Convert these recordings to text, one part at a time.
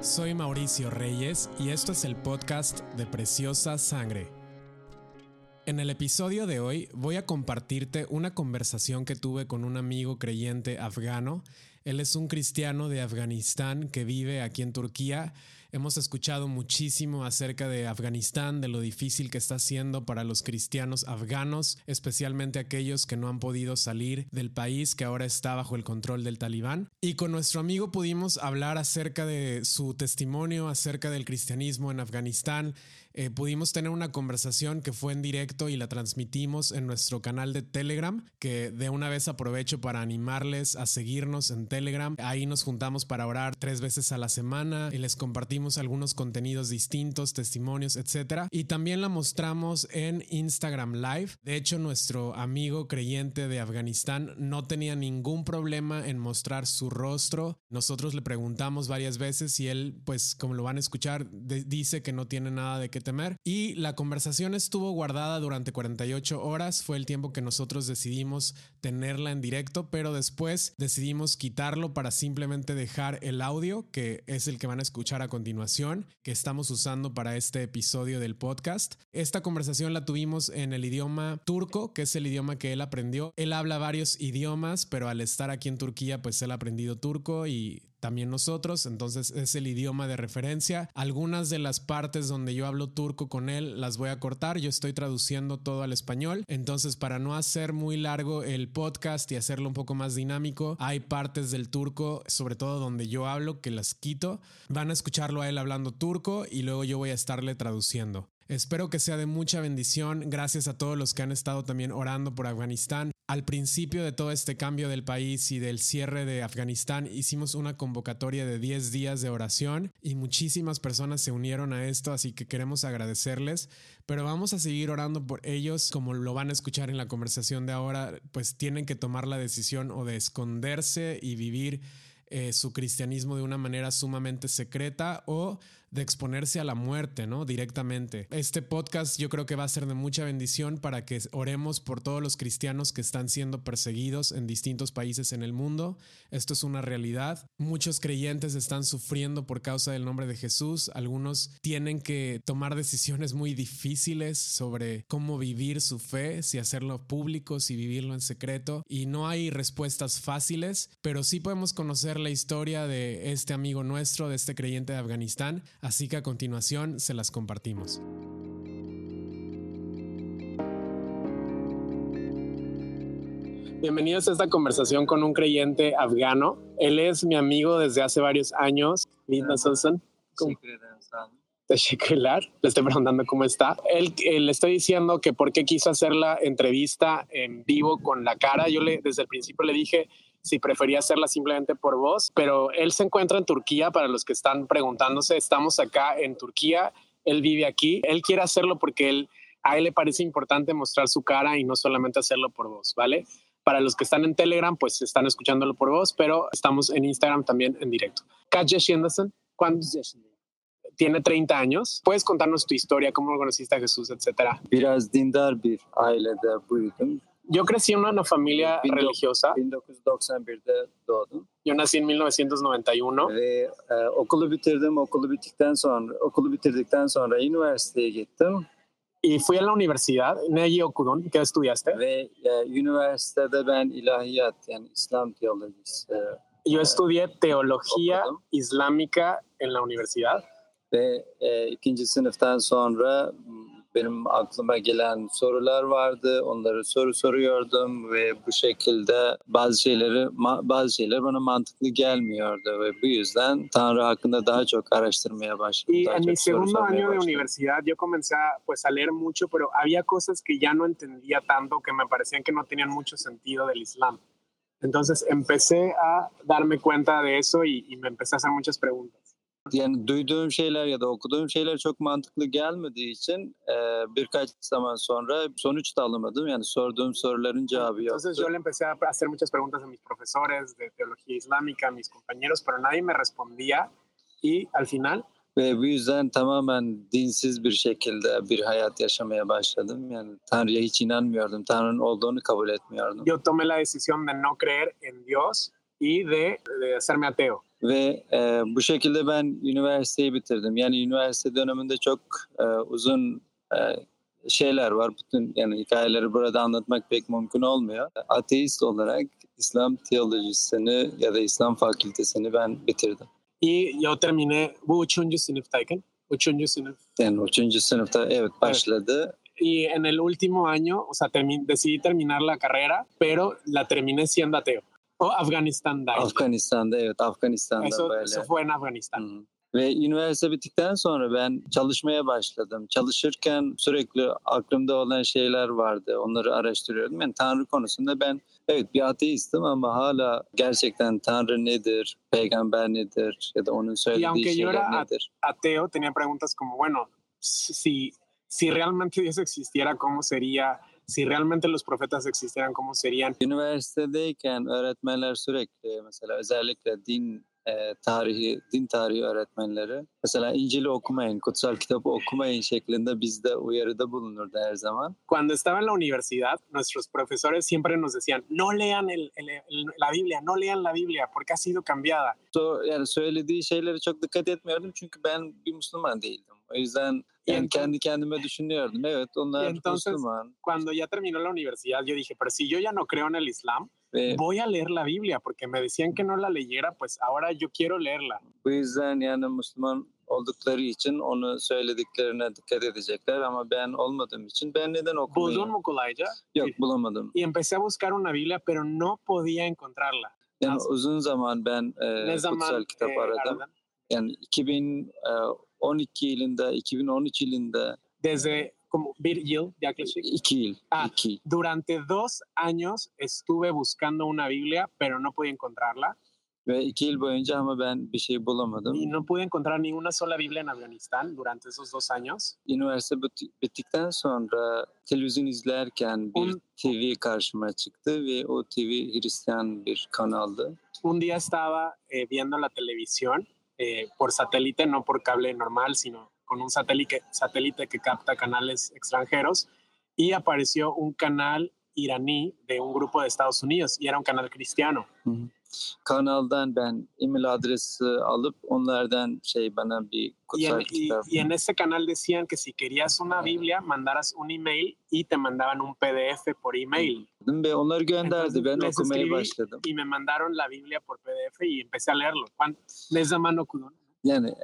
Soy Mauricio Reyes y esto es el podcast de Preciosa Sangre. En el episodio de hoy voy a compartirte una conversación que tuve con un amigo creyente afgano. Él es un cristiano de Afganistán que vive aquí en Turquía. Hemos escuchado muchísimo acerca de Afganistán, de lo difícil que está siendo para los cristianos afganos, especialmente aquellos que no han podido salir del país que ahora está bajo el control del Talibán. Y con nuestro amigo pudimos hablar acerca de su testimonio, acerca del cristianismo en Afganistán. Pudimos tener una conversación que fue en directo y la transmitimos en nuestro canal de Telegram, que de una vez aprovecho para animarles a seguirnos en Telegram. Ahí nos juntamos para orar 3 veces a la semana y les compartimos algunos contenidos distintos, testimonios, etc. Y también la mostramos en Instagram Live. De hecho, nuestro amigo creyente de Afganistán no tenía ningún problema en mostrar su rostro. Nosotros le preguntamos varias veces y él, pues como lo van a escuchar, dice que no tiene nada de qué temer. Y la conversación estuvo guardada durante 48 horas. Fue el tiempo que nosotros decidimos tenerla en directo, pero después decidimos quitarlo para simplemente dejar el audio, que es el que van a escuchar a continuación, que estamos usando para este episodio del podcast. Esta conversación la tuvimos en el idioma turco, que es el idioma que él aprendió. Él habla varios idiomas, pero al estar aquí en Turquía, pues él ha aprendido turco y también nosotros, entonces es el idioma de referencia. Algunas de las partes donde yo hablo turco con él las voy a cortar, yo estoy traduciendo todo al español, entonces para no hacer muy largo el podcast y hacerlo un poco más dinámico, hay partes del turco, sobre todo donde yo hablo, que las quito. Van a escucharlo a él hablando turco y luego yo voy a estarle traduciendo. Espero que sea de mucha bendición. Gracias a todos los que han estado también orando por Afganistán. Al principio de todo este cambio del país y del cierre de Afganistán, hicimos una convocatoria de 10 días de oración y muchísimas personas se unieron a esto, así que queremos agradecerles. Pero vamos a seguir orando por ellos. Como lo van a escuchar en la conversación de ahora, pues tienen que tomar la decisión o de esconderse y vivir su cristianismo de una manera sumamente secreta o de exponerse a la muerte, ¿no? Directamente. Este podcast yo creo que va a ser de mucha bendición para que oremos por todos los cristianos que están siendo perseguidos en distintos países en el mundo. Esto es una realidad. Muchos creyentes están sufriendo por causa del nombre de Jesús. Algunos tienen que tomar decisiones muy difíciles sobre cómo vivir su fe, si hacerlo público, si vivirlo en secreto. Y no hay respuestas fáciles, pero sí podemos conocer la historia de este amigo nuestro, de este creyente de Afganistán. Así que a continuación se las compartimos. Bienvenidos a esta conversación con un creyente afgano. Él es mi amigo desde hace varios años. Teşekkürler. Le estoy preguntando cómo está. Él le estoy diciendo que por qué quiso hacer la entrevista en vivo con la cara. Yo desde el principio le dije si prefería hacerla simplemente por voz, pero él se encuentra en Turquía. Para los que están preguntándose, estamos acá en Turquía. Él vive aquí. Él quiere hacerlo porque a él le parece importante mostrar su cara y no solamente hacerlo por voz, ¿vale? Para los que están en Telegram, pues están escuchándolo por voz, pero estamos en Instagram también en directo. Kaç yaşındasın? ¿Cuántos yaşındasın? Tiene 30 años. ¿Puedes contarnos tu historia, cómo conociste a Jesús, etcétera? Biraz dindar bir ailede büyüdüm. Yo crecí en una familia religiosa. 1991'de doğdum. Yo nací en 1991. Ve okulu bitirdim. Okulu bitirdikten sonra üniversiteye gittim. Y fui a la universidad. Neyi okudun? ¿Qué estudiaste? Ve üniversitede ben ilahiyat, yani İslam teolojisi. Yo estudié teología islámica en la universidad. Ve ikinci sınıftan sonra benim aklıma gelen sorular vardı. Onları soruyordum ve bu şekilde bazı şeyler bana mantıklı gelmiyordu ve bu yüzden Tanrı hakkında daha çok araştırmaya başladım. Y en mi segundo año de universidad yo comencé a leer mucho, pero había cosas que ya no entendía tanto, que me parecían que no tenían mucho sentido del Islam. Entonces empecé a darme cuenta de eso y me empecé a hacer muchas preguntas. Yani duyduğum şeyler ya da okuduğum şeyler çok mantıklı gelmediği için birkaç zaman sonra sonuç da alamadım. Yani sorduğum soruların cevabı yoktu. Entonces yo le empecé a hacer muchas preguntas a mis profesores de teología islámica, a mis compañeros, pero nadie me respondía y al final Ve bu yüzden tamamen dinsiz bir şekilde bir hayat yaşamaya başladım. Yani Tanrı'ya hiç inanmıyordum. Tanrı'nın olduğunu kabul etmiyordum. Yo tomé la decisión de no creer en Dios y de hacerme ateo. Ve bu şekilde ben üniversiteyi bitirdim. Yani üniversite döneminde çok uzun e, şeyler var. Bütün yani hikayeleri burada anlatmak pek mümkün olmuyor. Ateist olarak İslam teolojisini ya da İslam fakültesini ben bitirdim. Y yo terminé bu üçüncü sınıftayken. Üçüncü sınıf. Yani 3. sınıfta evet başladı. Y en el último año, o sea, decidí terminar la carrera, pero la terminé siendo ateo. O Afganistan'daydı. Afganistan'da evet Afganistan'da Eso böyle. fue en Afganistán. Hı. Ve üniversite bittikten sonra ben çalışmaya başladım. Çalışırken sürekli aklımda olan şeyler vardı. Onları araştırıyordum. Yani Tanrı konusunda ben evet bir ateistim ama hala gerçekten Tanrı nedir, peygamber nedir ya da onun Y söylediği aunque yo şeyler era nedir? ateo, tenía preguntas como, bueno, si realmente Dios existiera, ¿cómo sería? Si realmente los profetas existieran, ¿cómo serían? Üniversitedeyken öğretmenler sürekli mesela özellikle din tarihi öğretmenleri mesela İncil'i okumayın, kutsal kitabı okumayın şeklinde bizde uyarıda bulunurdu her zaman. Cuando estaba en la universidad, nuestros profesores siempre nos decían, no lean la Biblia, no lean la Biblia, porque ha sido cambiada. Yani söylediği şeylere çok dikkat etmiyordum çünkü ben bir Müslüman değildim. O yüzden yani kendi kendime düşünüyordum. Evet onlar entonces, Müslüman. Cuando ya terminó la universidad, yo dije, pero si yo ya no creo en el Islam, Ve voy a leer la Biblia, porque me decían que no la leyera, pues ahora yo quiero leerla. bu yüzden yani Müslüman oldukları için onu söylediklerine dikkat edecekler ama ben olmadığım için ben neden Buldum okumayayım? mu kolayca? Yok bulamadım. Y empecé a buscar una Biblia, pero no podía encontrarla. Yani uzun zaman ben Ne kutsal zaman kitap aradım. aradın? Yani 2012 yılında, 2013 yılında Desde como bir yıl yaklaşık. 2 yıl. Ah, 2. Durante 2 años estuve buscando una Biblia, pero no pude encontrarla. Ve 2 yıl boyunca ama ben bir şey Y bulamadım. no pude encontrar ni una sola Biblia en Afganistán durante esos 2 años. Üniversite bittikten sonra televizyon izlerken bir TV karşıma çıktı ve o TV Hristiyan bir kanaldı. Un día estaba viendo la televisión por satélite, no por cable normal, sino con un satélite que capta canales extranjeros, y apareció un canal iraní de un grupo de Estados Unidos, y era un canal cristiano. Hı. Kanaldan ben email adresi alıp onlardan bana bir kutsal kitap. Y en ese canal decían que si querías una Biblia, mandaras un email y te mandaban un PDF por email. Ve onları gönderdi. Entonces, Ben les okumaya escribí başladım. y me mandaron la Biblia por PDF y empecé a leerlo. Ne zaman okudun? Yani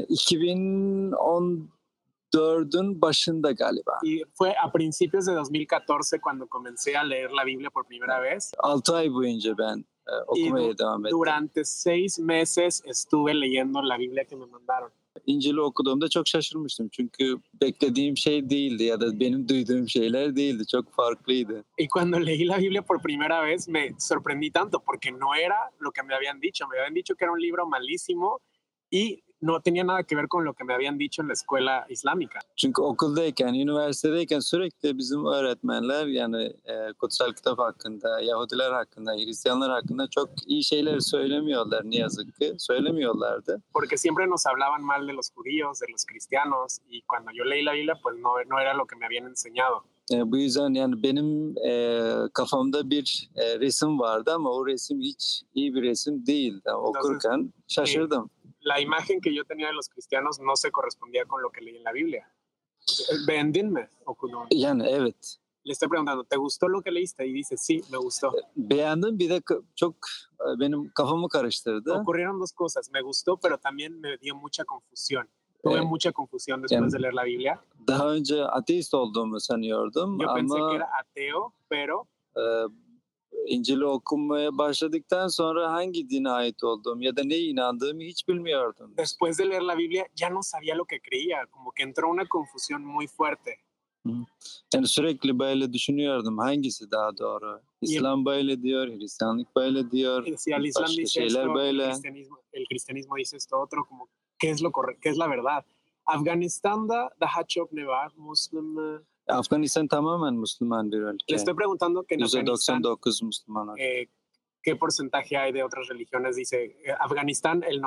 2014'ün başında galiba. Y fue a principios de 2014 cuando comencé a leer la Biblia por primera vez. 6 ay boyunca ben okumaya devam ettim. Durante 6 meses estuve leyendo la Biblia que me mandaron. İncil'i okuduğumda çok şaşırmıştım. Çünkü beklediğim şey değildi ya da benim duyduğum şeyler değildi. Çok farklıydı. Y cuando leí la Biblia por primera vez me sorprendí tanto porque no era lo que me habían dicho. Me habían dicho que era un libro malísimo y no tenía nada que ver con lo que me habían dicho en la escuela islámica. Çünkü okuldayken, üniversitedeyken sürekli bizim öğretmenler yani kutsal kitap hakkında, Yahudiler hakkında, Hristiyanlar hakkında çok iyi şeyler söylemiyorlar ne yazık ki. Söylemiyorlardı. Porque siempre nos hablaban mal de los judíos, de los cristianos, y cuando yo leí la Biblia pues no era lo que me habían enseñado. Bu yüzden yani benim kafamda bir resim vardı ama o resim hiç iyi bir resim değildi. Okurken şaşırdım. La imagen que yo tenía de los cristianos no se correspondía con lo que leí en la Biblia. Beğendin mi okudun? Yani evet. Le estoy preguntando, ¿te gustó lo que leíste? Y dice, sí, me gustó. Beğendim, bir de çok benim kafamı karıştırdı. Ocurrieron dos cosas, me gustó, pero también me dio mucha confusión. Tuve mucha confusión después de leer la Biblia. Daha önce ateist olduğumu sanıyordum Yo pensé ama que era ateo, pero İncil'i okumaya başladıktan sonra hangi dine ait olduğum ya da neye inandığımı hiç bilmiyordum. Después de leer la Biblia ya no sabía lo que creía, como que entró una confusión muy fuerte. Yani sürekli böyle düşünüyordum hangisi daha doğru. İslam böyle diyor, Hristiyanlık böyle diyor. Si al Islam dice şeyler esto, böyle. El cristianismo dice esto otro, como qué es lo correcto, qué es la verdad. Afganistan'da daha çok ne var? Müslüman. Afganistan tamamen Müslüman bir ülke. Le estoy preguntando que en Afganistán, %99 Müslüman. ¿qué porcentaje hay de otras religiones? Dice, Afganistán el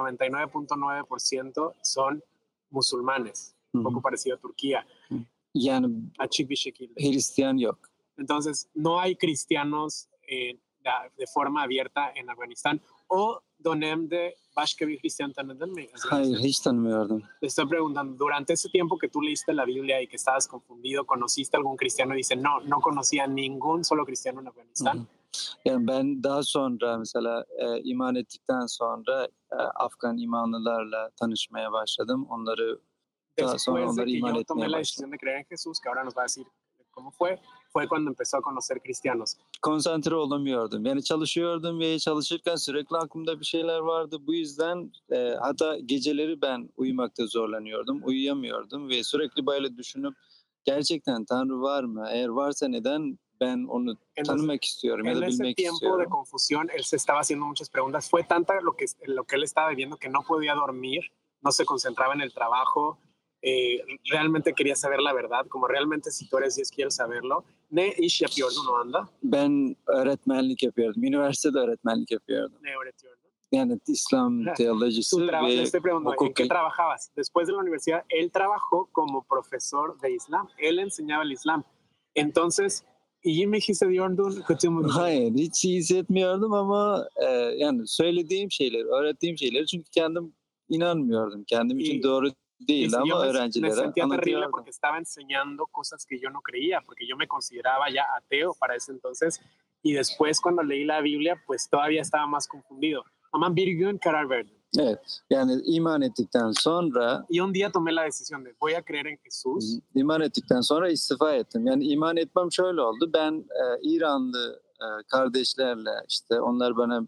99.9% son musulmanes, un poco parecido a Turquía. Yani Açık bir şekilde. Hristiyan yok. Entonces, no hay cristianos de forma abierta en Afganistán. O dönemde başka bir Hristiyan tanıdın mı? Hayır, hiç tanımıyordum. Le estoy preguntando, durante ese tiempo que tú leíste la Biblia y que estabas confundido, ¿conociste algún cristiano? Y dice, no, no conocía ningún solo cristiano en Afganistán. Hı hı. Yani ben daha sonra mesela iman ettikten sonra Afgan imanlılarla tanışmaya başladım. Onları daha sonra Después de onları que iman yo tomé etmeye la başladım. decisión de creer en Jesús, que ahora nos va a decir cómo fue cuando empezó a conocer cristianos. Konsantre olamıyordum. Yani çalışıyordum ve çalışırken sürekli aklımda bir şeyler vardı. Bu yüzden hatta geceleri ben uyumakta zorlanıyordum. Uyuyamıyordum ve sürekli böyle düşünüp gerçekten Tanrı var mı? Eğer varsa neden ben onu tanımak istiyorum ya da En ese bilmek tiempo de istiyorum. confusión, él se estaba haciendo muchas preguntas. Fue tanta lo que él estaba viviendo que no podía dormir, no se concentraba en el trabajo. Realmente quería saber la verdad, como realmente si tú eres Dios quieres saberlo. Ne iş yapıyordun o anda? Ben öğretmenlik yapıyordum. Üniversitede öğretmenlik yapıyordum. Ne öğretiyordun? Yani İslam teolojisi Le ve estoy preguntando, ¿en hukuk. qué trabajabas? Después de la universidad, él trabajó como profesor de Islam. Él enseñaba el Islam. Entonces, iyi mi hissediyordun, kötü mü? Hayır, hiç iyi hissetmiyordum ama yani söylediğim şeyler, öğrettiğim şeyleri çünkü kendim inanmıyordum. Kendim için doğru değildi yo ama me öğrencilere sentía terrible anlatıyordum. porque estaba enseñando cosas que yo no creía, porque yo me consideraba ya ateo para ese entonces. Y después cuando leí la Biblia, pues todavía estaba más confundido. Ama bir gün karar verdim. Evet, yani iman ettikten sonra Y un día tomé la decisión de voy a creer en Jesús. iman ettikten sonra istifa ettim. Yani iman etmem şöyle oldu. Ben İranlı kardeşlerle işte onlar bana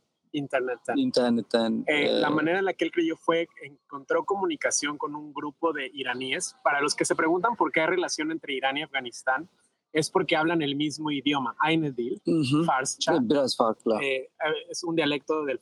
internetten la manera en la que él creyó fue encontró comunicación con un grupo de iraníes. Para los que se preguntan por qué hay relación entre Irán y Afganistán, es porque hablan el mismo idioma, Aynı dil, Farsça. Biraz farklı. Es un dialecto del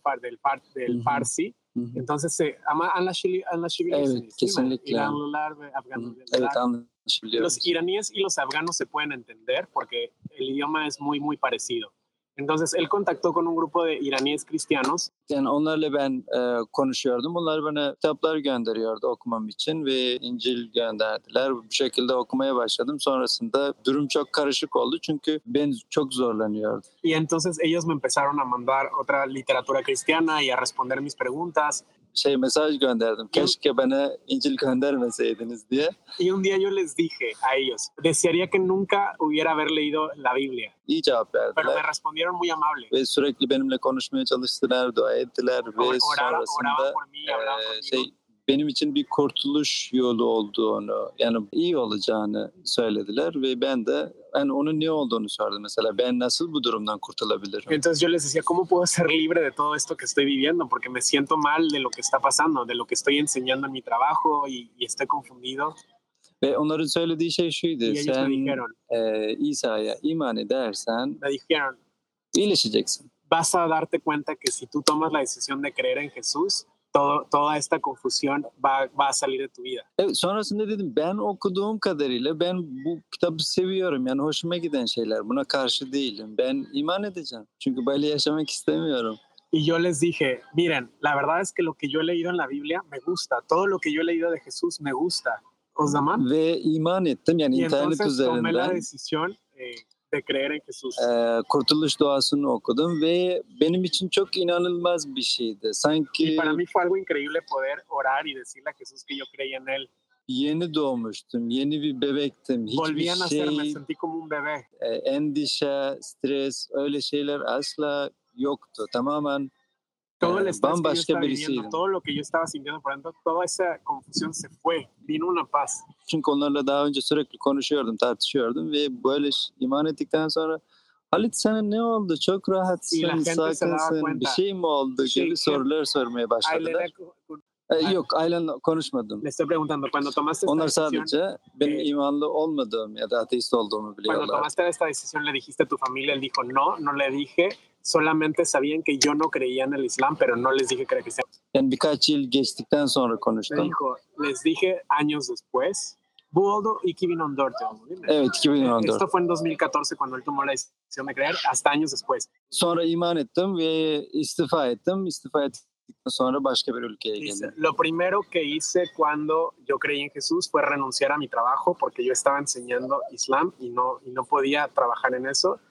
Farsi. Entonces anlaşabilirsiniz. Evet, kesinlikle. İranlılar ve Afganlar. Evet, anlaşabiliyoruz. Los iraníes y los afganos se pueden entender porque el idioma es muy, muy parecido. Entonces él contactó con un grupo de iraníes cristianos. Yani onlarla ben konuşuyordum. Onlar bana kitaplar gönderiyordu okumam için ve İncil gönderdiler. Bu şekilde okumaya başladım. Sonrasında durum çok karışık oldu çünkü ben çok zorlanıyordum. Y entonces ellos me empezaron a mandar otra literatura cristiana y a responder mis preguntas. Mesaj gönderdim. Keşke bana İncil göndermeseydiniz diye. Y un día yo les dije a ellos, desearía que nunca hubiera haber leído la Biblia. İyi cevap verdiler. Pero me respondieron muy amable. Ve sürekli benimle konuşmaya çalıştılar, dua ettiler ve sonrasında benim için bir kurtuluş yolu olduğunu, yani iyi olacağını söylediler ve ben de onun ne olduğunu sordum. Mesela ben nasıl bu durumdan kurtulabilirim? Entonces yo les decía, ¿cómo puedo ser libre de todo esto que estoy viviendo? Porque me siento mal de lo que está pasando, de lo que estoy enseñando en mi trabajo y estoy confundido. Ve onların söylediği şey şuydu. Sen İsa'ya iman edersen iyileşeceksin. Vas a darte cuenta que si tú tomas la decisión de creer en Jesús, toda esta confusión va a salir de tu vida. Evet, sonrasında dedim ben okuduğum kadarıyla ben bu kitabı seviyorum. Yani hoşuma giden şeyler. Buna karşı değilim. Ben iman edeceğim. Çünkü böyle yaşamak istemiyorum. Y yo les dije, miren, la verdad es que lo que yo he leído en la Biblia me gusta. Todo lo que yo he leído de Jesús me gusta. O zaman. Ve iman ettim. Yani internet üzerinden. Tomé la decisión de creer en Jesús. Kurtuluş duasını okudum ve benim için çok inanılmaz bir şeydi. Sanki y para mí fue algo increíble poder orar y decirle a Jesús que yo creía en él. Yeni doğmuştum, yeni bir bebektim. Volví a nacer, me sentí como un bebé. Endişe, stres, öyle şeyler asla yoktu. Tamamen todo el estrés que yo estaba birisiydim. viviendo, todo lo que yo estaba sintiendo por dentro, toda esa confusión se fue, vino una paz. Çünkü onlarla daha önce sürekli konuşuyordum, tartışıyordum ve böyle iman ettikten sonra Halit sana ne oldu? Çok rahatsın, sakinsın, bir şey mi oldu gibi sorular sormaya başladılar. Yok, ailenle konuşmadım. Le estoy preguntando, cuando tomaste Onlar sadece benim imanlı olmadığım ya da ateist olduğumu biliyorlar. Cuando tomaste esta decisión, le dijiste a tu familia, él dijo, no le dije, solamente sabían que yo no creía en el Islam, pero no les dije que era cristiano. Yani birkaç yıl geçtikten sonra konuştum. Me dijo, les dije años después, bu oldu 2014 oldu değil mi? Evet, 2014. Esto fue en 2014 cuando él tomó la decisión de creer, hasta años después. Sonra iman ettim ve istifa ettim. İstifa ettikten sonra başka bir ülkeye geldim. Lo primero que hice cuando yo creí en Jesús fue renunciar a mi trabajo porque yo estaba enseñando Islam y no podía trabajar en eso.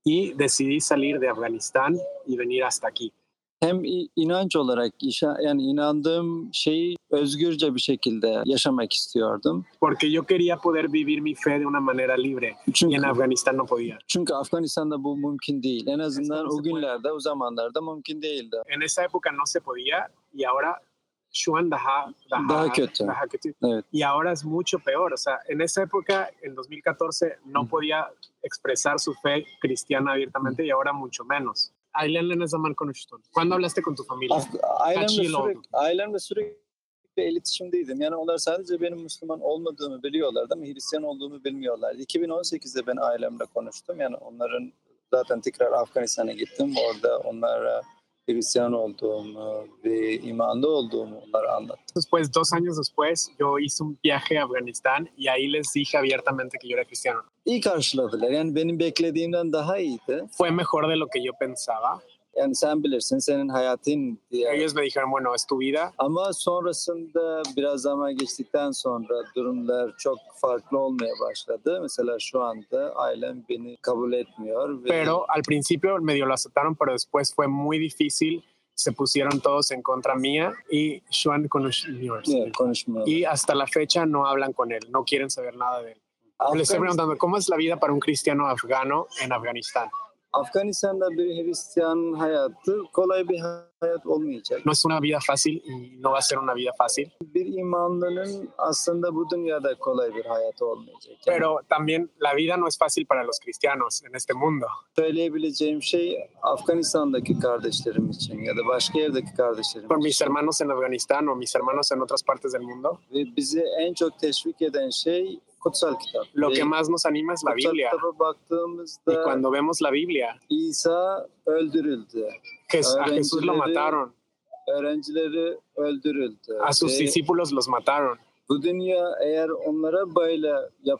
y decidí salir de Afganistán y venir hasta aquí. Hem inanç olarak yani inandığım şeyi özgürce bir şekilde yaşamak istiyordum. Porque yo quería poder vivir mi fe de una manera libre y en Çünkü Afganistán no podía. çünkü Afganistan'da bu mümkün değil. En azından o günlerde, o zamanlarda mümkün değildi. En esa época no se podía y ahora şu an Daha kötü. daha kötü. Evet. Y ahora es mucho peor. O sea, en esa época, en 2014, no podía expresar su fe cristiana abiertamente y ahora mucho menos. Ailenle ne zaman konuştun? ¿Cuándo hablaste con tu familia? Kaç yıl oldu? Ailemle sürekli iletişimdeydim. Yani onlar sadece benim Müslüman olmadığımı biliyorlardı ama Hristiyan olduğumu bilmiyorlardı. 2018'de ben ailemle konuştum. Yani onların zaten tekrar Afganistan'a gittim. Orada onlara Hristiyan olduğumu ve imanlı olduğumu onlara anlattım. Después, 2 años después, yo hice un viaje a Afganistán y ahí les dije abiertamente que yo era cristiano. İyi karşıladılar. Yani benim beklediğimden daha iyiydi. Fue mejor de lo que yo pensaba. Yani sen bilirsin, senin hayatın diye. Ellos me dijeron, bueno, es tu vida. Ama sonrasında biraz zaman geçtikten sonra durumlar çok farklı olmaya başladı. Mesela şu anda ailem beni kabul etmiyor. Pero al principio medio lo aceptaron, pero después fue muy difícil. Se pusieron todos en contra mía y Juan konuşmuyor. Konuşmuyor. Y hasta la fecha no hablan con él, no quieren saber nada de él. Le estoy preguntando, ¿cómo es la vida para un cristiano afgano en Afganistán? Afganistan'da bir Hristiyan hayatı kolay bir hayat olmayacak. No es una vida fácil y no va a ser una vida fácil. Bir imanlının aslında bu dünyada kolay bir hayatı olmayacak. Yani Pero también la vida no es fácil para los cristianos en este mundo. söyleyebileceğim şey Afganistan'daki kardeşlerim için ya da başka yerdeki kardeşlerim Por mis için. hermanos en Afganistán o mis hermanos en otras partes del mundo, Ve bizi en çok teşvik eden şey kutsal kitap. lo Ve que más nos anima es la kutsal Biblia. kitaba Y baktığımızda cuando vemos la Biblia, İsa öldürüldü. a Jesús lo mataron, Öğrencileri öldürüldü. a sus Ve discípulos los mataron. bu dünya eğer onlara böyle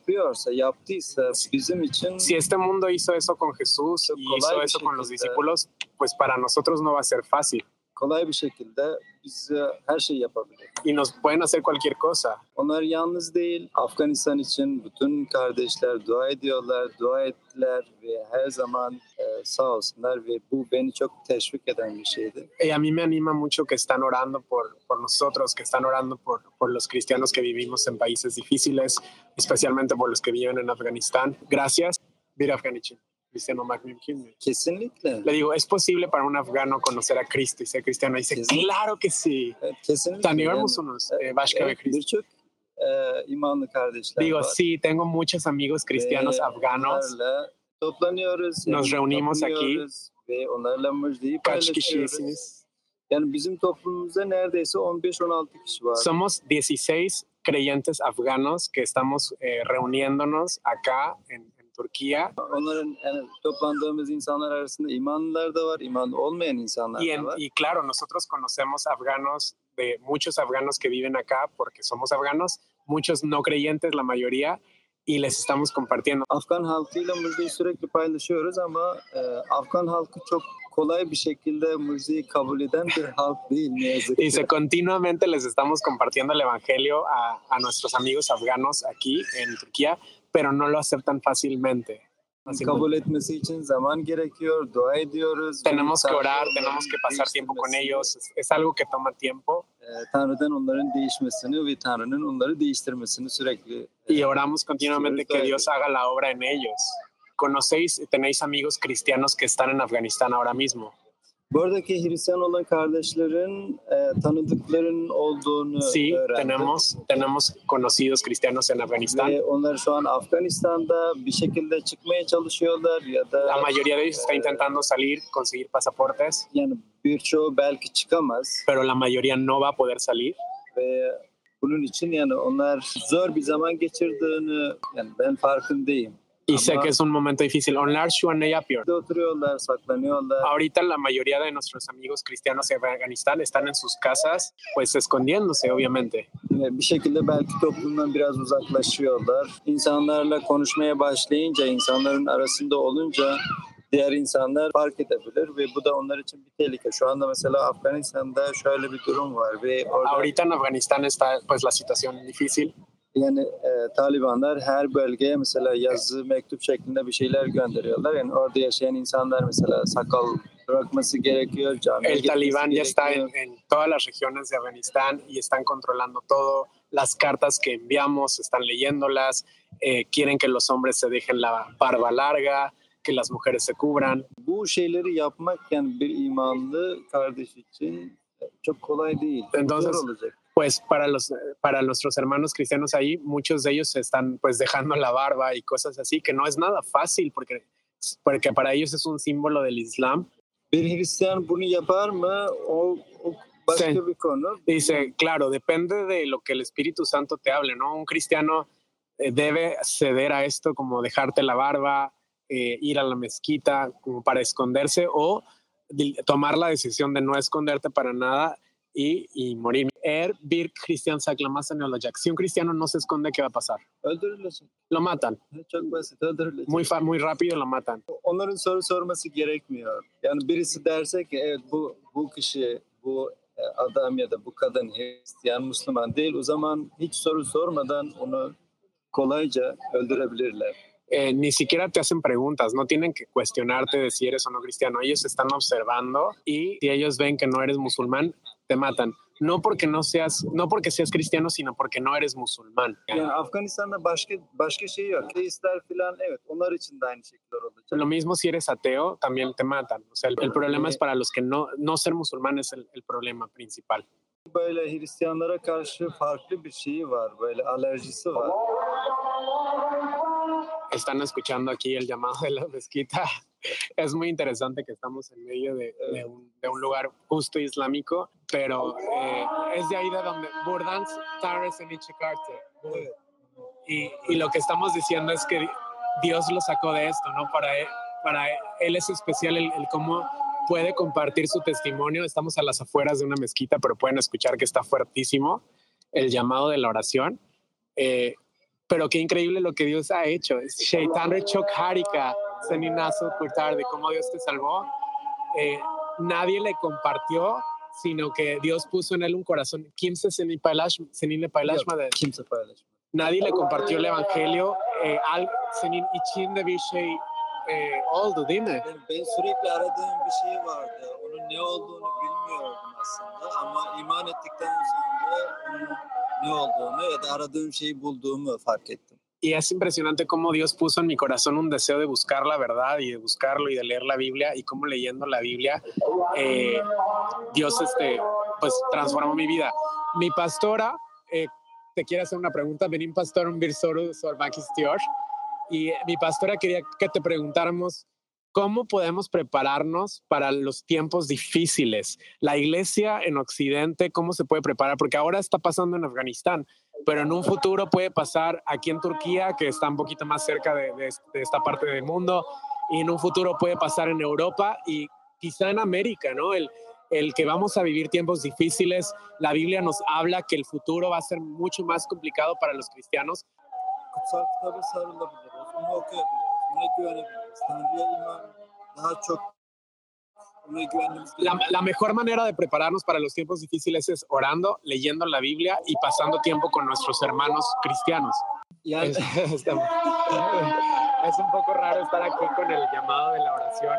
yaptıysa bizim için Si este mundo hizo eso con Jesús y hizo eso con los discípulos, pues para nosotros no va a ser fácil. kolay bir şekilde bize her şey yapabilir. Y nos pueden hacer cualquier cosa. Onlar yalnız değil. Afganistan için bütün kardeşler dua ediyorlar, dua ettiler ve her zaman sağ olsunlar ve bu beni çok teşvik eden bir şeydi. Y a mí me anima mucho que están orando por nosotros, que están orando por los cristianos que vivimos en países difíciles, especialmente por los que viven en Afganistán. Gracias. Bir Afgan için. Cristiano olmak mümkün mü? Kesinlikle. Le digo, ¿es posible para un afgano conocer a Cristo y ser cristiano? Y dice, claro que sí. Evet, kesinlikle. Tanıyor musunuz başka ve Cristo? Birçok imanlı kardeşler Digo, var. sí, tengo muchos amigos cristianos afganos. Onlarla toplanıyoruz. Nos reunimos tapınıyoruz ve onlarla müjdeyi Kaç paylaşıyoruz. kişisiniz? Yani bizim toplumumuzda neredeyse 15-16 kişi var. Somos 16 creyentes afganos que estamos reuniéndonos acá en Turquía. Onların yani toplandığımız insanlar arasında imanlılar da var, imanlı olmayan insanlar da var. Y claro, nosotros conocemos afganos, de muchos afganos que viven acá porque somos afganos, muchos no creyentes, la mayoría, y les estamos compartiendo. Afgan halkıyla müjdeyi sürekli paylaşıyoruz ama Afgan halkı çok kolay bir şekilde müjdeyi kabul eden bir halk değil ne yazık ki. Dice, continuamente les estamos compartiendo el evangelio a nuestros amigos afganos aquí en Turquía, pero no lo aceptan fácilmente. Kabul etmesi için zaman gerekiyor, dua ediyoruz. Tenemos que orar, tenemos que pasar tiempo con ellos. Es algo que toma tiempo. Tanrı'dan onların değişmesini ve Tanrı'nın onları değiştirmesini sürekli. Y oramos continuamente que Dios haga la obra en ellos. ¿Conocéis, tenéis amigos cristianos que están en Afganistán ahora mismo? Buradaki Hristiyan olan kardeşlerin tanıdıkların olduğunu Sí, öğrendim. tenemos conocidos cristianos en Afganistán. Ve onlar şu an Afganistan'da bir şekilde çıkmaya çalışıyorlar ya da La mayoría de ellos está intentando salir, conseguir pasaportes, yani birçoğu belki çıkamaz pero la mayoría no va a poder salir. ve bunun için yani onlar zor bir zaman geçirdiğini yani ben farkındayım. Y sé que es un momento difícil. Onlar şu an ne yapıyor? Oturuyorlar, saklanıyorlar. Ahorita la mayoría de nuestros amigos cristianos en Afganistán están en sus casas, pues escondiéndose, obviamente. Bir şekilde belki toplumdan biraz uzaklaşıyorlar. İnsanlarla konuşmaya başlayınca, insanların arasında olunca diğer insanlar fark edebilir ve bu da onlar için bir tehlike. Şu anda mesela Afganistan'da şöyle bir durum var ve orada Ahorita en Afganistán está pues la situación difícil. Yani Talibanlar her bölgeye mesela yazı mektup şeklinde bir şeyler gönderiyorlar. Yani orada yaşayan insanlar mesela sakal bırakması gerekiyor, camiye El gitmesi Talibán ya está gerekiyor. en todas las regiones de Afganistán y están controlando todo. Las cartas que enviamos están leyéndolas, quieren que los hombres se dejen la barba larga, que las mujeres se cubran. Bu şeyleri yapmak yani bir imanlı kardeş için çok kolay değil. Entonces, zor olacak. Pues para nuestros hermanos cristianos ahí, muchos de ellos se están pues dejando la barba y cosas así, que no es nada fácil porque para ellos es un símbolo del Islam. Bir Hristiyan bunu yapar mı? O başka Sí. bir konu. Dice, claro, depende de lo que el Espíritu Santo te hable, ¿no? Un cristiano debe ceder a esto, como dejarte la barba, ir a la mezquita como para esconderse o tomar la decisión de no esconderte para nada y morir. Bir Hristiyan saklamazsa olacak. Si un cristiano no se esconde, ¿qué va a pasar? Öldürülecek. Lo matan. Çok basit, öldürülecek. Muy rápido lo matan. Onların soru sorması gerekmiyor. Yani birisi derse ki evet bu kişi, bu adam ya da bu kadın Hristiyan, Müslüman değil. O zaman hiç soru sormadan onu kolayca öldürebilirler. Ni siquiera te hacen preguntas, no tienen que cuestionarte de si eres o no cristiano. Ellos están observando y si ellos ven que no eres musulmán, te matan. No porque seas cristiano, sino porque no eres musulmán. Yani Afganistan'da başka şey yok. Deistler falan evet onlar için de aynı şekilde olacak. Lo mismo si eres ateo, también te matan. O sea, el problema es para los que no ser musulmán es el problema principal. Böyle Hristiyanlara karşı farklı bir şeyi var, böyle alerjisi var. Están escuchando aquí el llamado de la mezquita. Es muy interesante que estamos en medio de un lugar justo islámico, pero es de ahí de donde Burdans, Tares en Ichikarte. Y lo que estamos diciendo es que Dios lo sacó de esto, ¿no? Para él es especial el cómo puede compartir su testimonio. Estamos a las afueras de una mezquita, pero pueden escuchar que está fuertísimo el llamado de la oración. Pero qué increíble lo que Dios ha hecho. Shaitanre çok harika, senin nasıl kurtardı, cómo Dios te salvó. Nadie le compartió, sino que Dios puso en él un corazón. Kimse seninle paylaşmadı. Kimse paylaşmadı. Nadie le compartió el evangelio. Senin içinde bir şey oldu değil mi? Ben sürekli aradığım bir şey vardı. Onun ne olduğunu bilmiyordum aslında ama iman ettikten sonra onun ne olduğunu ya da aradığım şeyi bulduğumu fark ettim. Y es impresionante cómo Dios puso en mi corazón un deseo de buscar la verdad y de buscarlo y de leer la Biblia y cómo leyendo la Biblia Dios pues transformó mi vida. Mi pastora te quiere hacer una pregunta. Benim pastorum bir soru sormak istiyor. Y mi pastora quería que te preguntáramos cómo podemos prepararnos para los tiempos difíciles. La iglesia en Occidente, ¿cómo se puede preparar? Porque ahora está pasando en Afganistán, pero en un futuro puede pasar aquí en Turquía, que está un poquito más cerca de esta parte del mundo, y en un futuro puede pasar en Europa y quizá en América, ¿no? El que vamos a vivir tiempos difíciles. La Biblia nos habla que el futuro va a ser mucho más complicado para los cristianos. Kutsal kitaba sarılabiliriz, onu okuyabiliriz, ona güvenebiliriz. Tanrı'ya iman daha çok ona güvenmemiz gerekiyor. La mejor manera de prepararnos para los tiempos difíciles es orando, leyendo la Biblia y pasando tiempo con nuestros hermanos cristianos. Yani Es un poco raro estar aquí con el llamado de la oración.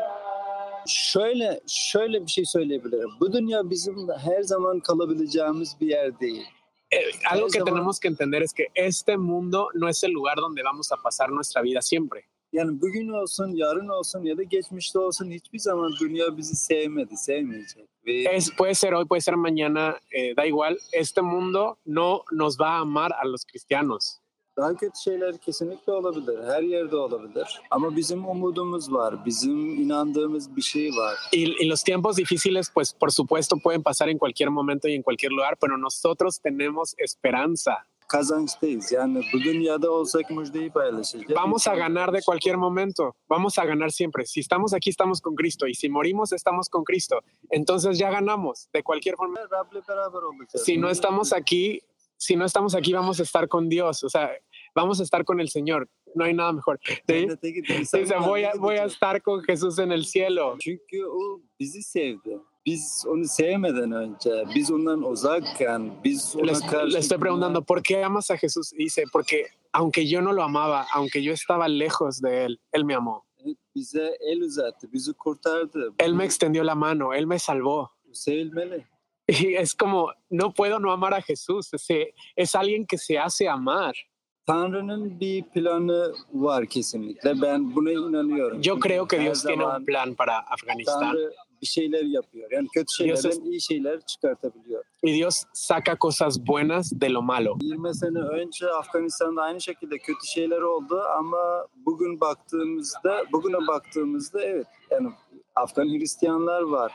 şöyle bir şey söyleyebilirim. Bu dünya bizim her zaman kalabileceğimiz bir yer değil. Algo que tenemos que entender es que este mundo no es el lugar donde vamos a pasar nuestra vida siempre. Yani bugün olsun, yarın olsun ya da geçmişte olsun hiçbir zaman dünya bizi sevmeyecek. Puede ser hoy, puede ser mañana, da igual. Este mundo no nos va a amar a los cristianos. Daha kötü şeyler kesinlikle olabilir. Her yerde olabilir. Ama bizim umudumuz var. Bizim inandığımız bir şey var. Y los tiempos difíciles, pues por supuesto pueden pasar en cualquier momento y en cualquier lugar, pero nosotros tenemos esperanza. Kazançtayız. Yani bu dünyada olsak müjdeyi paylaşacağız. Vamos a ganar de cualquier momento. Vamos a ganar siempre. Si estamos aquí, estamos con Cristo. Y si morimos, estamos con Cristo. Entonces ya ganamos de cualquier forma. Rab'le beraber olacağız. Si no estamos aquí, vamos a estar con Dios. O sea, vamos a estar con el Señor. No hay nada mejor. ¿Sí? Dice, voy a estar con Jesús en el cielo. Çünkü o bizi sevdi. biz onu sevmeden önce, biz ondan uzakken, biz ona Le estoy karşı preguntando, ¿por qué amas a Jesús? Y dice, porque aunque yo no lo amaba, aunque yo estaba lejos de él me amó. bize el uzattı, bizi kurtardı. Él me extendió la mano, él me salvó. Bu sevilmeli. Y es como, no puedo no amar a Jesús. Es alguien que se hace amar. Tanrı'nın bir planı var kesinlikle. Ben buna inanıyorum. Yo Çünkü creo que her Dios tiene un zaman plan para Afganistán. Tanrı bir şeyler yapıyor. Yani kötü şeylerden iyi şeyler çıkartabiliyor. Y Dios saca cosas buenas de lo malo. 20 sene önce Afganistan'da aynı şekilde kötü şeyler oldu ama bugüne baktığımızda evet, yani Afgan Hristiyanlar var.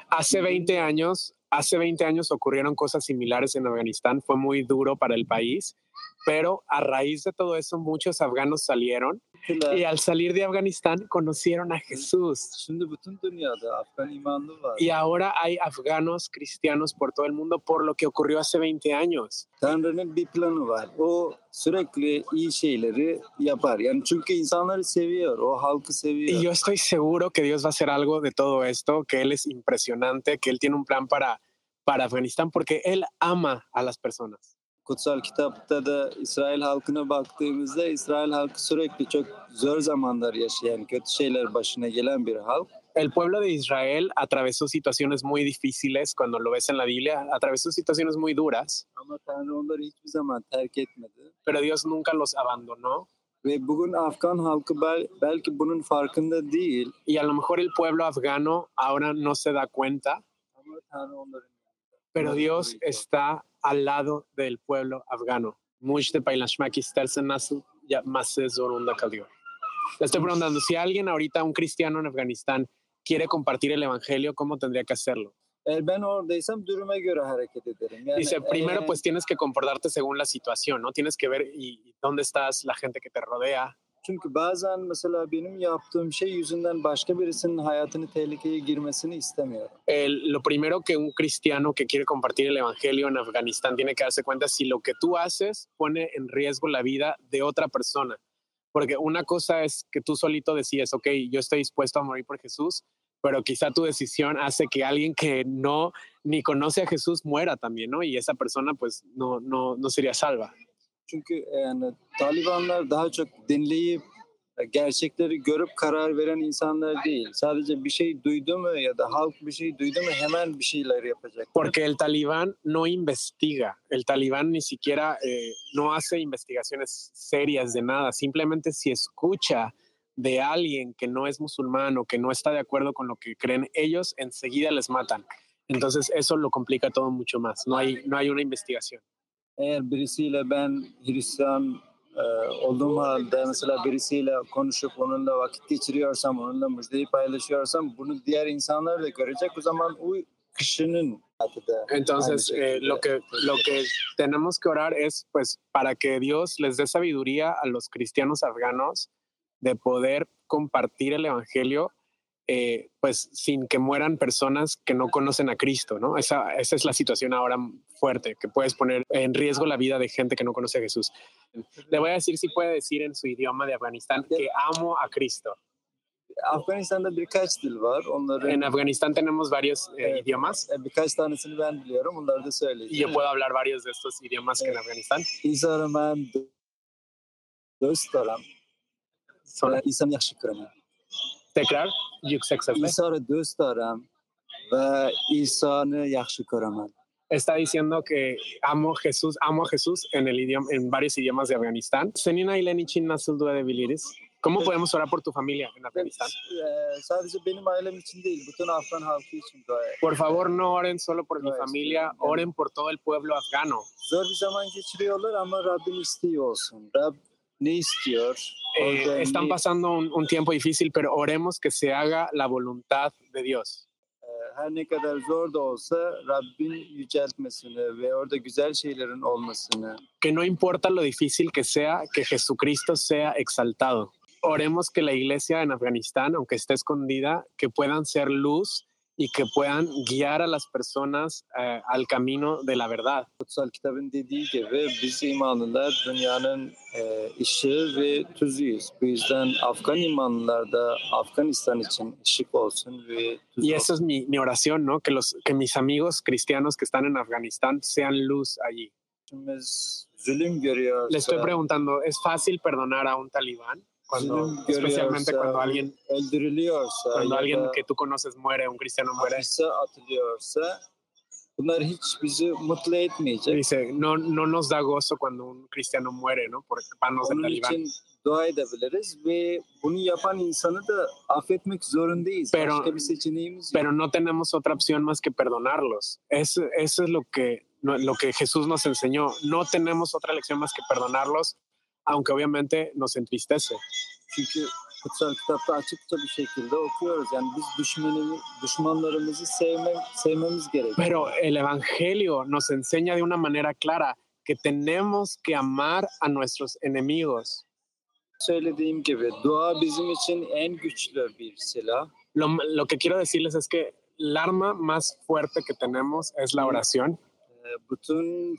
Hace 20 años ocurrieron cosas similares en Afganistán. Fue muy duro para el país, pero a raíz de todo eso muchos afganos salieron y al salir de Afganistán conocieron a Jesús. Şimdi bütün dünyada Afgan imanlı var. Y ahora hay afganos cristianos por todo el mundo por lo que ocurrió hace 20 años. Tanrı'nın bir planı var. O sürekli iyi şeyleri yapar. Yani çünkü insanları seviyor, o halkı seviyor. Y yo estoy seguro que Dios va a hacer algo de todo esto, que Él es impresionante, que Él tiene un plan para Afganistán, porque Él ama a las personas. Kutsal kitapta da İsrail halkına baktığımızda İsrail halkı sürekli çok zor zamanlar yaşayan, kötü şeyler başına gelen bir halk. El pueblo de Israel atravesó situaciones muy difíciles cuando lo ves en la Biblia, atravesó situaciones muy duras. Ama Tanrı onları hiçbir zaman terk etmedi. Pero Dios nunca los abandonó. Ve bugün Afgan halkı belki bunun farkında değil. Y a lo mejor el pueblo afgano ahora no se da cuenta. Ama Tanrı onların. Pero Dios está al lado del pueblo afgano. Mujde paylaşmak istersen nasıl yapması zorunda kalıyor. Le estoy preguntando, si alguien ahorita, un cristiano en Afganistán, quiere compartir el evangelio, ¿cómo tendría que hacerlo? Eğer ben oradaysam duruma göre hareket ederim. Yani, dice, primero pues tienes que comportarte según la situación, ¿no? Tienes que ver y dónde estás, la gente que te rodea. Çünkü bazen mesela benim yaptığım şey yüzünden başka birisinin hayatını tehlikeye girmesini istemiyorum. Lo primero que un cristiano que quiere compartir el evangelio en Afganistán tiene que darse cuenta si lo que tú haces pone en riesgo la vida de otra persona. Porque una cosa es que tú solito decides, ok, yo estoy dispuesto a morir por Jesús, pero quizá tu decisión hace que alguien que no ni conoce a Jesús muera también, ¿no? Y esa persona pues no sería salva. Çünkü yani Talibanlar daha çok dinleyip gerçekleri görüp karar veren insanlar değil. Sadece bir şey duydu mu ya da halk bir şey duydu mu hemen bir şeyler yapacak. Porque el talibán no investiga, el talibán ni siquiera no hace investigaciones serias de nada, simplemente si escucha de alguien que no es musulmán o que no está de acuerdo con lo que creen ellos, enseguida les matan. Entonces eso lo complica todo mucho más, no hay una investigación. Eğer birisiyle ben Hristiyan olduğum halde mesela birisiyle konuşup onunla vakit geçiriyorsam, onunla müjdeyi paylaşıyorsam bunu diğer insanlar da görecek. O zaman o kişinin Entonces, lo que tenemos que orar es pues para que Dios les dé sabiduría a los cristianos afganos de poder compartir el evangelio pues sin que mueran personas que no conocen a Cristo, ¿no? Esa es la situación ahora fuerte, que puedes poner en riesgo la vida de gente que no conoce a Jesús. Le voy a decir si puede decir en su idioma de Afganistán que amo a Cristo. Afganistan'da birkaç dil var. En Afganistán tenemos varios idiomas. Birkaç tanesini ben biliyorum. Onları da söyleyeceğim. Y yo puedo hablar varios de estos idiomas que en Afganistán. İsa'nı ben dostlarım. İsa'nı yaxshi ko'raman. Tekrar, yüksek sesle. İsa'nı dostlarım ve İsa'nı yaxshi ko'raman. Está diciendo que amo a Jesús en varios idiomas de Afganistán. Senin ailen için nasıl dua edebiliriz? ¿Cómo podemos orar por tu familia en Afganistán? Sadece benim ailem için değil, bütün Afgan halkı için dua edin. Por favor, no oren solo por mi familia, oren por todo el pueblo afgano. Zor bir zaman geçiriyorlar ama Rabbin istiyor olsun. Rab ne istiyor? Están pasando un tiempo difícil, pero oremos que se haga la voluntad de Dios. Her ne kadar zor da olsa Rabbin yüceltmesini ve orada güzel şeylerin olmasını. Que no importa lo difícil que sea, que Jesucristo sea exaltado. Oremos que la iglesia en Afganistán, aunque esté escondida, que puedan ser luz y que puedan guiar a las personas al camino de la verdad. Kutsal kitabın dediği gibi biz imanlılar dünyanın ışığı ve tuzuyuz. Bu yüzden Afgan imanlılar da Afganistan için ışık olsun ve tuz Y olsun. eso es mi oración, ¿no? Que mis amigos cristianos que están en Afganistán sean luz allí. Biz zulüm görüyorsa, Le estoy preguntando, ¿es fácil perdonar a un talibán? zulüm Especialmente görüyorsa, cuando alguien öldürülüyorsa ya da que tú conoces muere, un cristiano muere. hapise atılıyorsa bunlar hiç bizi mutlu etmeyecek. Dice, no nos da gozo cuando un cristiano muere, ¿no? Por manos del Onun talibán. için dua edebiliriz ve bunu yapan insanı da affetmek zorundayız. Başka bir seçeneğimiz yok. Pero no tenemos otra opción más que perdonarlos. Eso es lo que Jesús nos enseñó. No tenemos otra lección más que perdonarlos, aunque obviamente nos entristece. Çünkü kutsal kitapta açıkça bir şekilde okuyoruz. Yani biz düşmanlarımızı sevmemiz gerekiyor. Pero el Evangelio nos enseña de una manera clara que tenemos que amar a nuestros enemigos. Söylediğim gibi dua bizim için en güçlü bir silah. Lo que quiero decirles es que el arma más fuerte que tenemos es la oración. Bütün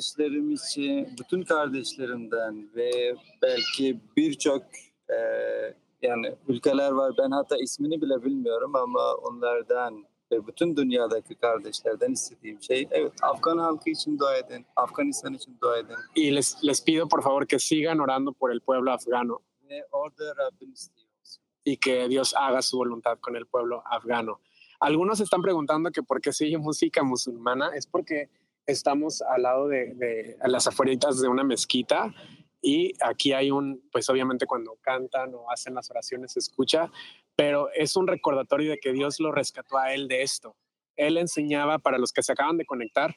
kardeşlerimden ve belki birçok yani ülkeler var. Ben hatta ismini bile bilmiyorum ama onlardan ve bütün dünyadaki kardeşlerden istediğim şey, evet, Afgan halkı için dua edin, Afganistan için dua edin. Y les pido por favor que sigan orando por el pueblo afgano. Ve orada Rabbin istiyor. Y que Dios haga su voluntad con el pueblo afgano. Algunos están preguntando que por qué se oye música musulmana. Es porque estamos al lado a las afueritas de una mezquita y aquí hay pues obviamente cuando cantan o hacen las oraciones se escucha, pero es un recordatorio de que Dios lo rescató a él de esto. Él enseñaba, para los que se acaban de conectar,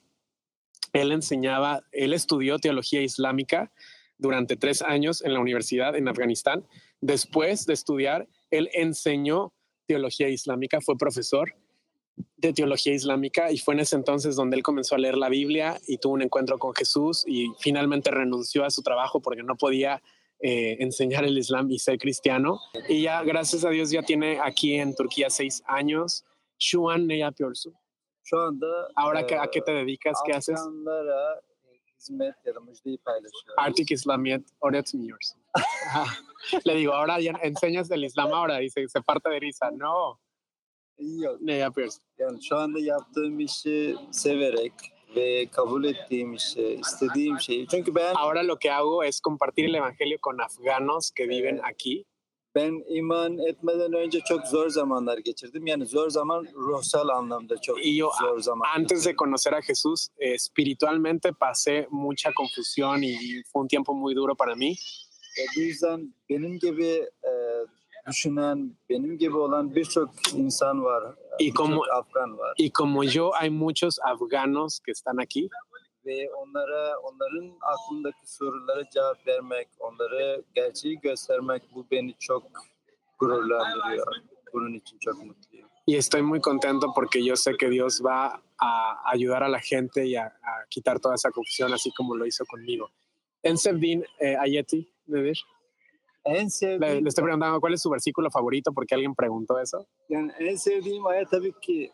él estudió teología islámica durante 3 años en la universidad en Afganistán. Después de estudiar, él enseñó teología islámica, fue profesor de teología islámica y fue en ese entonces donde él comenzó a leer la Biblia y tuvo un encuentro con Jesús y finalmente renunció a su trabajo porque no podía enseñar el Islam y ser cristiano. Y ya, gracias a Dios, ya tiene aquí en Turquía 6 años. Şu an ne yapıyorsun? Şu anda Ahora, ¿a qué te dedicas? ¿Qué haces? Afganlara hizmet ya da müjdeyi paylaşıyoruz. Artık İslamiyet öğretmiyorsun. Le digo, ahora ya enseñas el Islam ahora. Dice, se parte de risa. No. Yok. Ne yapıyorsun? Yani şu anda yaptığım işi severek ve kabul ettiğim işi, istediğim şeyi. Çünkü ben Ahora lo que hago es compartir el evangelio con afganos que viven aquí. Ben iman etmeden önce çok zor zamanlar geçirdim. Yani zor zaman ruhsal anlamda çok zor zaman. Antes de conocer a Jesús, espiritualmente pasé mucha confusión y fue un tiempo muy duro para mí. Bu yüzden benim gibi düşünen, benim gibi olan birçok insan var. Birçok Afgan var. Y como yo, hay muchos afganos que están aquí. Ve onların aklındaki sorulara cevap vermek, onlara gerçeği göstermek, bu beni çok gururlandırıyor. Bunun için çok mutluyum. Y estoy muy contento porque yo sé que Dios va a ayudar a la gente y a quitar toda esa confusión, así como lo hizo conmigo. En Sevdin, Ayeti, Nedir. En sevdiğim, Le estoy preguntando cuál es su versículo favorito porque alguien preguntó eso. Yani en sevdiğim ayet tabii ki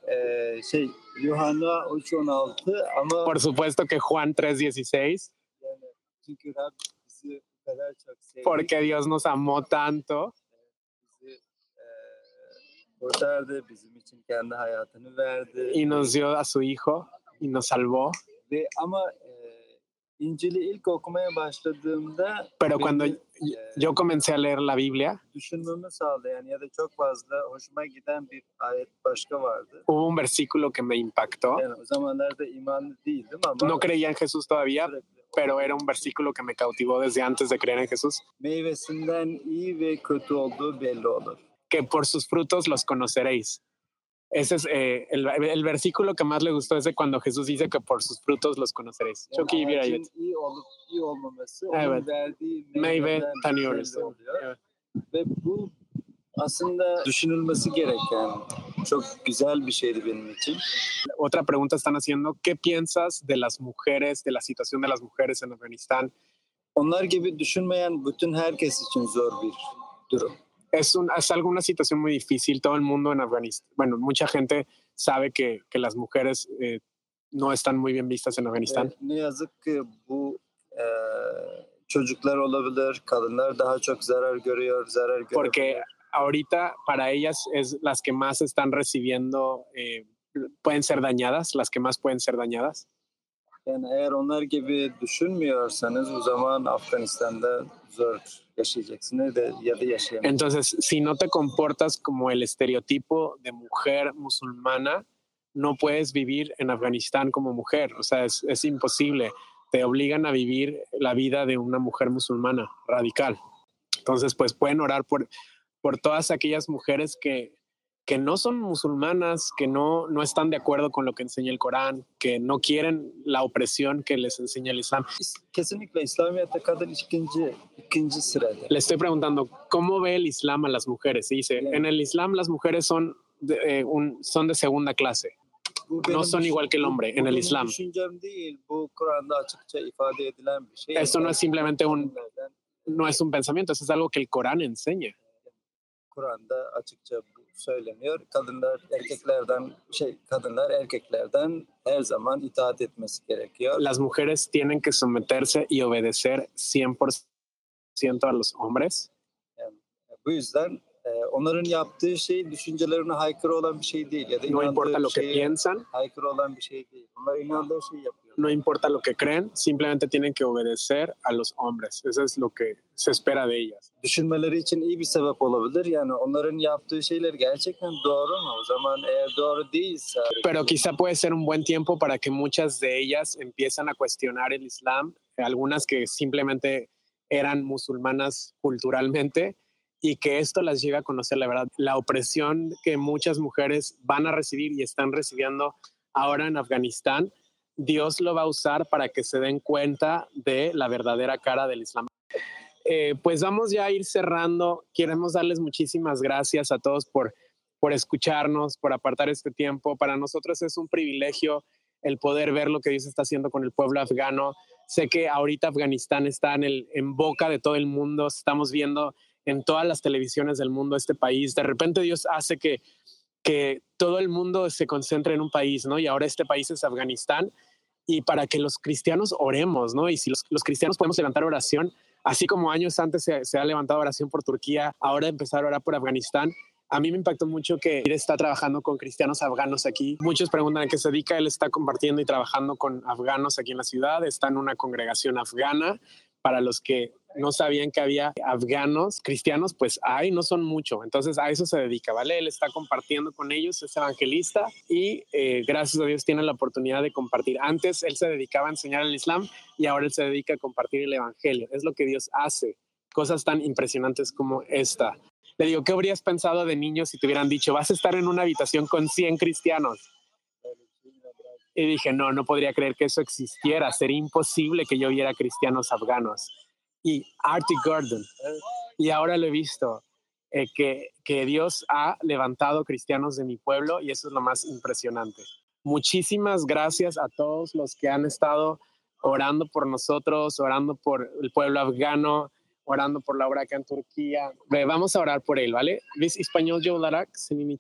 Yuhanna 3:16 ama por supuesto que Juan 3:16. Yani çünkü Rab bizi bu kadar çok sevdi. Porque Dios nos amó tanto. Bizi kurtardı, bizim için kendi hayatını verdi. Y nos dio a su hijo y nos salvó. Ve ama İncil'i ilk okumaya başladığımda pero cuando yo comencé a leer la Biblia, düşünmemi sağlayan ya da çok fazla hoşuma giden bir ayet başka vardı. Hubo un versículo que me impactó. Yani o zamanlarda imanlı değildim ama no creía en Jesús todavía, pero era un versículo que me cautivó desde antes de creer en Jesús. Meyvesinden iyi ve kötü olduğu belli olur. Que por sus frutos los conoceréis. Ese es el versículo que más le gustó, es de cuando Jesús dice que por sus frutos los conoceréis. Yani Çok iyi bir ayet. iyi olup iyi olmaması Evet. onun verdiği Meyve meyveden tanıyoruz. belli oluyor. Evet. Ve bu aslında düşünülmesi gereken çok güzel bir şeydi benim için. Otra pregunta están haciendo, ¿qué piensas de las mujeres, de la situación de las mujeres en Afganistán? Onlar gibi düşünmeyen bütün herkes için zor bir durum. Es algo, una situación muy difícil. Todo el mundo en Afganistán, bueno, mucha gente sabe que las mujeres no están muy bien vistas en Afganistán. Ne yazık ki bu çocuklar olabilir, kadınlar daha çok zarar görüyor, zarar Porque görebilir. ahorita para ellas es las que más están recibiendo, pueden ser dañadas, las que más pueden ser dañadas. Yani eğer onlar gibi düşünmüyorsanız o zaman Afganistan'da zor yaşayacaksınız ya da yaşayamayacağız. Entonces, si no te comportas como el estereotipo de mujer musulmana, no puedes vivir en Afganistán como mujer. O sea, es imposible. Te obligan a vivir la vida de una mujer musulmana radical. Entonces, pues pueden orar por todas aquellas mujeres que no son musulmanas, que no están de acuerdo con lo que enseña el Corán, que no quieren la opresión que les enseña el Islam. Kesinlikle İslamiyet'te kadın ikinci sırada. Le estoy preguntando, ¿cómo ve el Islam a las mujeres? Y dice, en el Islam las mujeres son de segunda clase. No son igual que el hombre en el Islam. Esto no es simplemente no es un pensamiento, eso es algo que el Corán enseña. Kur'an'da açıkça bu söyleniyor. Kadınlar erkeklerden her zaman itaat etmesi gerekiyor. Las mujeres tienen que someterse y obedecer 100% a los hombres. Yani, bu yüzden onların yaptığı şey düşüncelerine aykırı olan bir şey değil ya da No importa lo inandığı que şeye piensan, aykırı olan bir şey değil. Onlar inandığı şeyi yapıyor. no importa lo que creen, simplemente tienen que obedecer a los hombres. Eso es lo que se espera de ellas. Düşünmeleri için iyi bir sebep olabilir. Yani onların yaptığı şeyler gerçekten doğru mu? O zaman eğer doğru değilse... Pero quizá puede ser un buen tiempo para que muchas de ellas empiezan a cuestionar el Islam, algunas que simplemente eran musulmanas culturalmente, y que esto las lleve a conocer la verdad. La opresión que muchas mujeres van a recibir y están recibiendo ahora en Afganistán, Dios lo va a usar para que se den cuenta de la verdadera cara del Islam. Pues vamos ya a ir cerrando. Queremos darles muchísimas gracias a todos por escucharnos, por apartar este tiempo. Para nosotros es un privilegio el poder ver lo que Dios está haciendo con el pueblo afgano. Sé que ahorita Afganistán está en boca de todo el mundo. Estamos viendo en todas las televisiones del mundo este país. De repente Dios hace que todo el mundo se concentre en un país, ¿no? Y ahora este país es Afganistán. Y para que los cristianos oremos, ¿no? Y si los cristianos podemos levantar oración, así como años antes se ha levantado oración por Turquía, ahora empezar a orar por Afganistán. A mí me impactó mucho que él está trabajando con cristianos afganos aquí. Muchos preguntan a qué se dedica. Él está compartiendo y trabajando con afganos aquí en la ciudad. Está en una congregación afgana. Para los que no sabían que había afganos cristianos, pues hay, no son mucho. Entonces a eso se dedica, ¿vale? Él está compartiendo con ellos, es evangelista y gracias a Dios tiene la oportunidad de compartir. Antes él se dedicaba a enseñar el Islam y ahora él se dedica a compartir el evangelio. Es lo que Dios hace. Cosas tan impresionantes como esta. Le digo, ¿qué habrías pensado de niño si te hubieran dicho, vas a estar en una habitación con 100 cristianos? Y dije, no podría creer que eso existiera. Sería imposible que yo viera cristianos afganos. Y Artie Gordon. Y ahora lo he visto, que Dios ha levantado cristianos de mi pueblo y eso es lo más impresionante. Muchísimas gracias a todos los que han estado orando por nosotros, orando por el pueblo afgano, orando por la obra acá en Turquía. Vamos a orar por él, ¿vale? ¿Ves español yo olarak?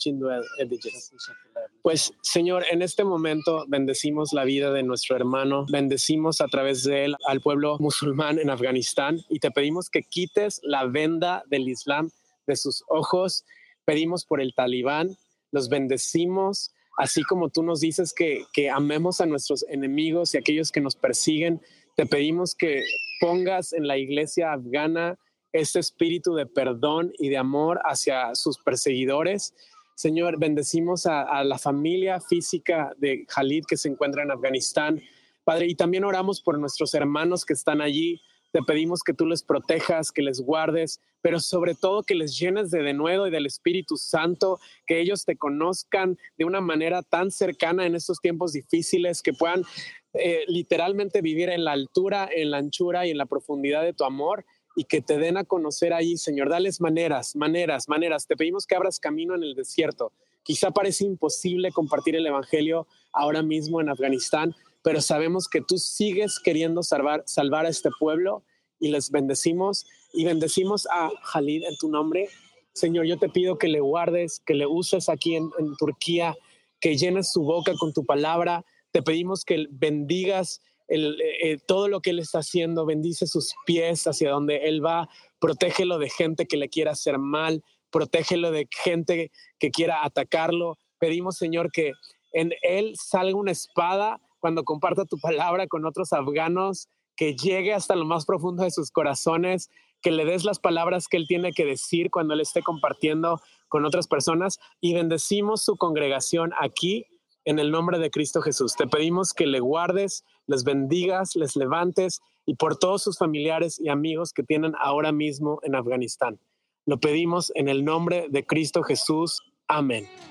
Pues, Señor, en este momento bendecimos la vida de nuestro hermano, bendecimos a través de él al pueblo musulmán en Afganistán y te pedimos que quites la venda del Islam de sus ojos. Pedimos por el talibán, los bendecimos, así como tú nos dices que amemos a nuestros enemigos y a aquellos que nos persiguen. Te pedimos que pongas en la iglesia afgana este espíritu de perdón y de amor hacia sus perseguidores. Señor, bendecimos a la familia física de Khalid que se encuentra en Afganistán. Padre, y también oramos por nuestros hermanos que están allí. Te pedimos que tú les protejas, que les guardes, pero sobre todo que les llenes de denuedo y del Espíritu Santo, que ellos te conozcan de una manera tan cercana en estos tiempos difíciles, que puedan literalmente vivir en la altura, en la anchura y en la profundidad de tu amor y que te den a conocer ahí, Señor. Dales maneras. Te pedimos que abras camino en el desierto. Quizá parece imposible compartir el evangelio ahora mismo en Afganistán, pero sabemos que tú sigues queriendo salvar a este pueblo y les bendecimos y bendecimos a Khalid en tu nombre. Señor, yo te pido que le guardes, que le uses aquí en Turquía, que llenes su boca con tu palabra. Te pedimos que bendigas todo lo que él está haciendo, bendice sus pies hacia donde él va, protégelo de gente que le quiera hacer mal, protégelo de gente que quiera atacarlo. Pedimos, Señor, que en él salga una espada cuando comparta tu palabra con otros afganos, que llegue hasta lo más profundo de sus corazones, que le des las palabras que él tiene que decir cuando él esté compartiendo con otras personas, y bendecimos su congregación aquí en el nombre de Cristo Jesús. Te pedimos que le guardes, les bendigas, les levantes, y por todos sus familiares y amigos que tienen ahora mismo en Afganistán. Lo pedimos en el nombre de Cristo Jesús. Amén.